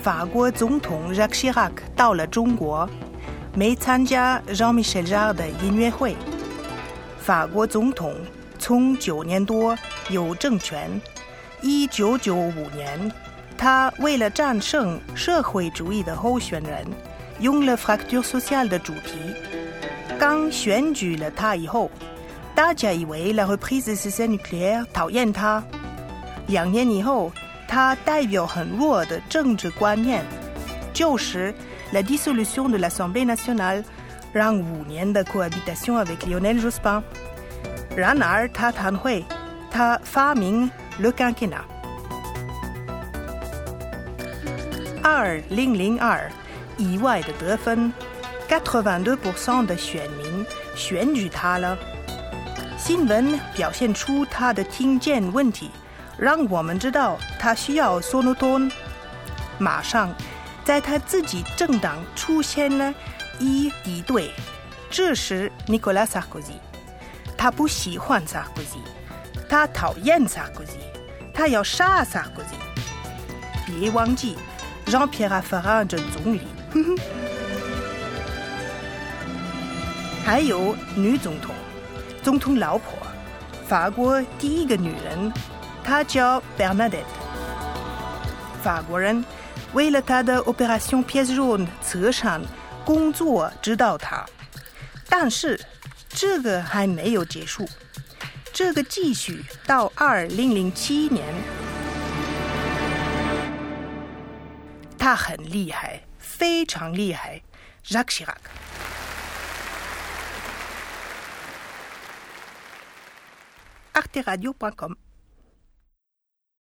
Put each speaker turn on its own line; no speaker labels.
法国总统 Jacques Chirac 到了中国，没参加 Jean-Michel Jarre 的音乐会。法国总统从9年多有政权。1995年，他为了战胜社会主义的候选人，用了 fracture sociale 的主题。刚选举了他以后，大家以为 la reprise des essais nucléaires 讨厌他。2年以后，他代表很弱的政治观念，就是 la dissolution de l'Assemblée nationale， 让5年的 cohabitation avec Lionel Jospin。然而他谈会，他发明 le quinquennat。2002意外的得分，82% 的选民选举他了。新闻表现出他的听见问题，让我们知道他需要 sonotone。马上在他自己政党出现了一敌对，这是 Nicolas Sarkozy。他不喜欢 Sarkozy， 他讨厌 Sarkozy， 他要杀 Sarkozy。别忘记 Jean-Pierre Raffarin 这总理。还有女总统，总统老婆，法国第一个女人，她叫 Bernadette。法国人为了她的 Opération Pièce Jaune 慈善工作知道她，但是这个还没有结束，这个继续到2007年。他很厉害，非常厉害 Jacques Chirac。arteradio.com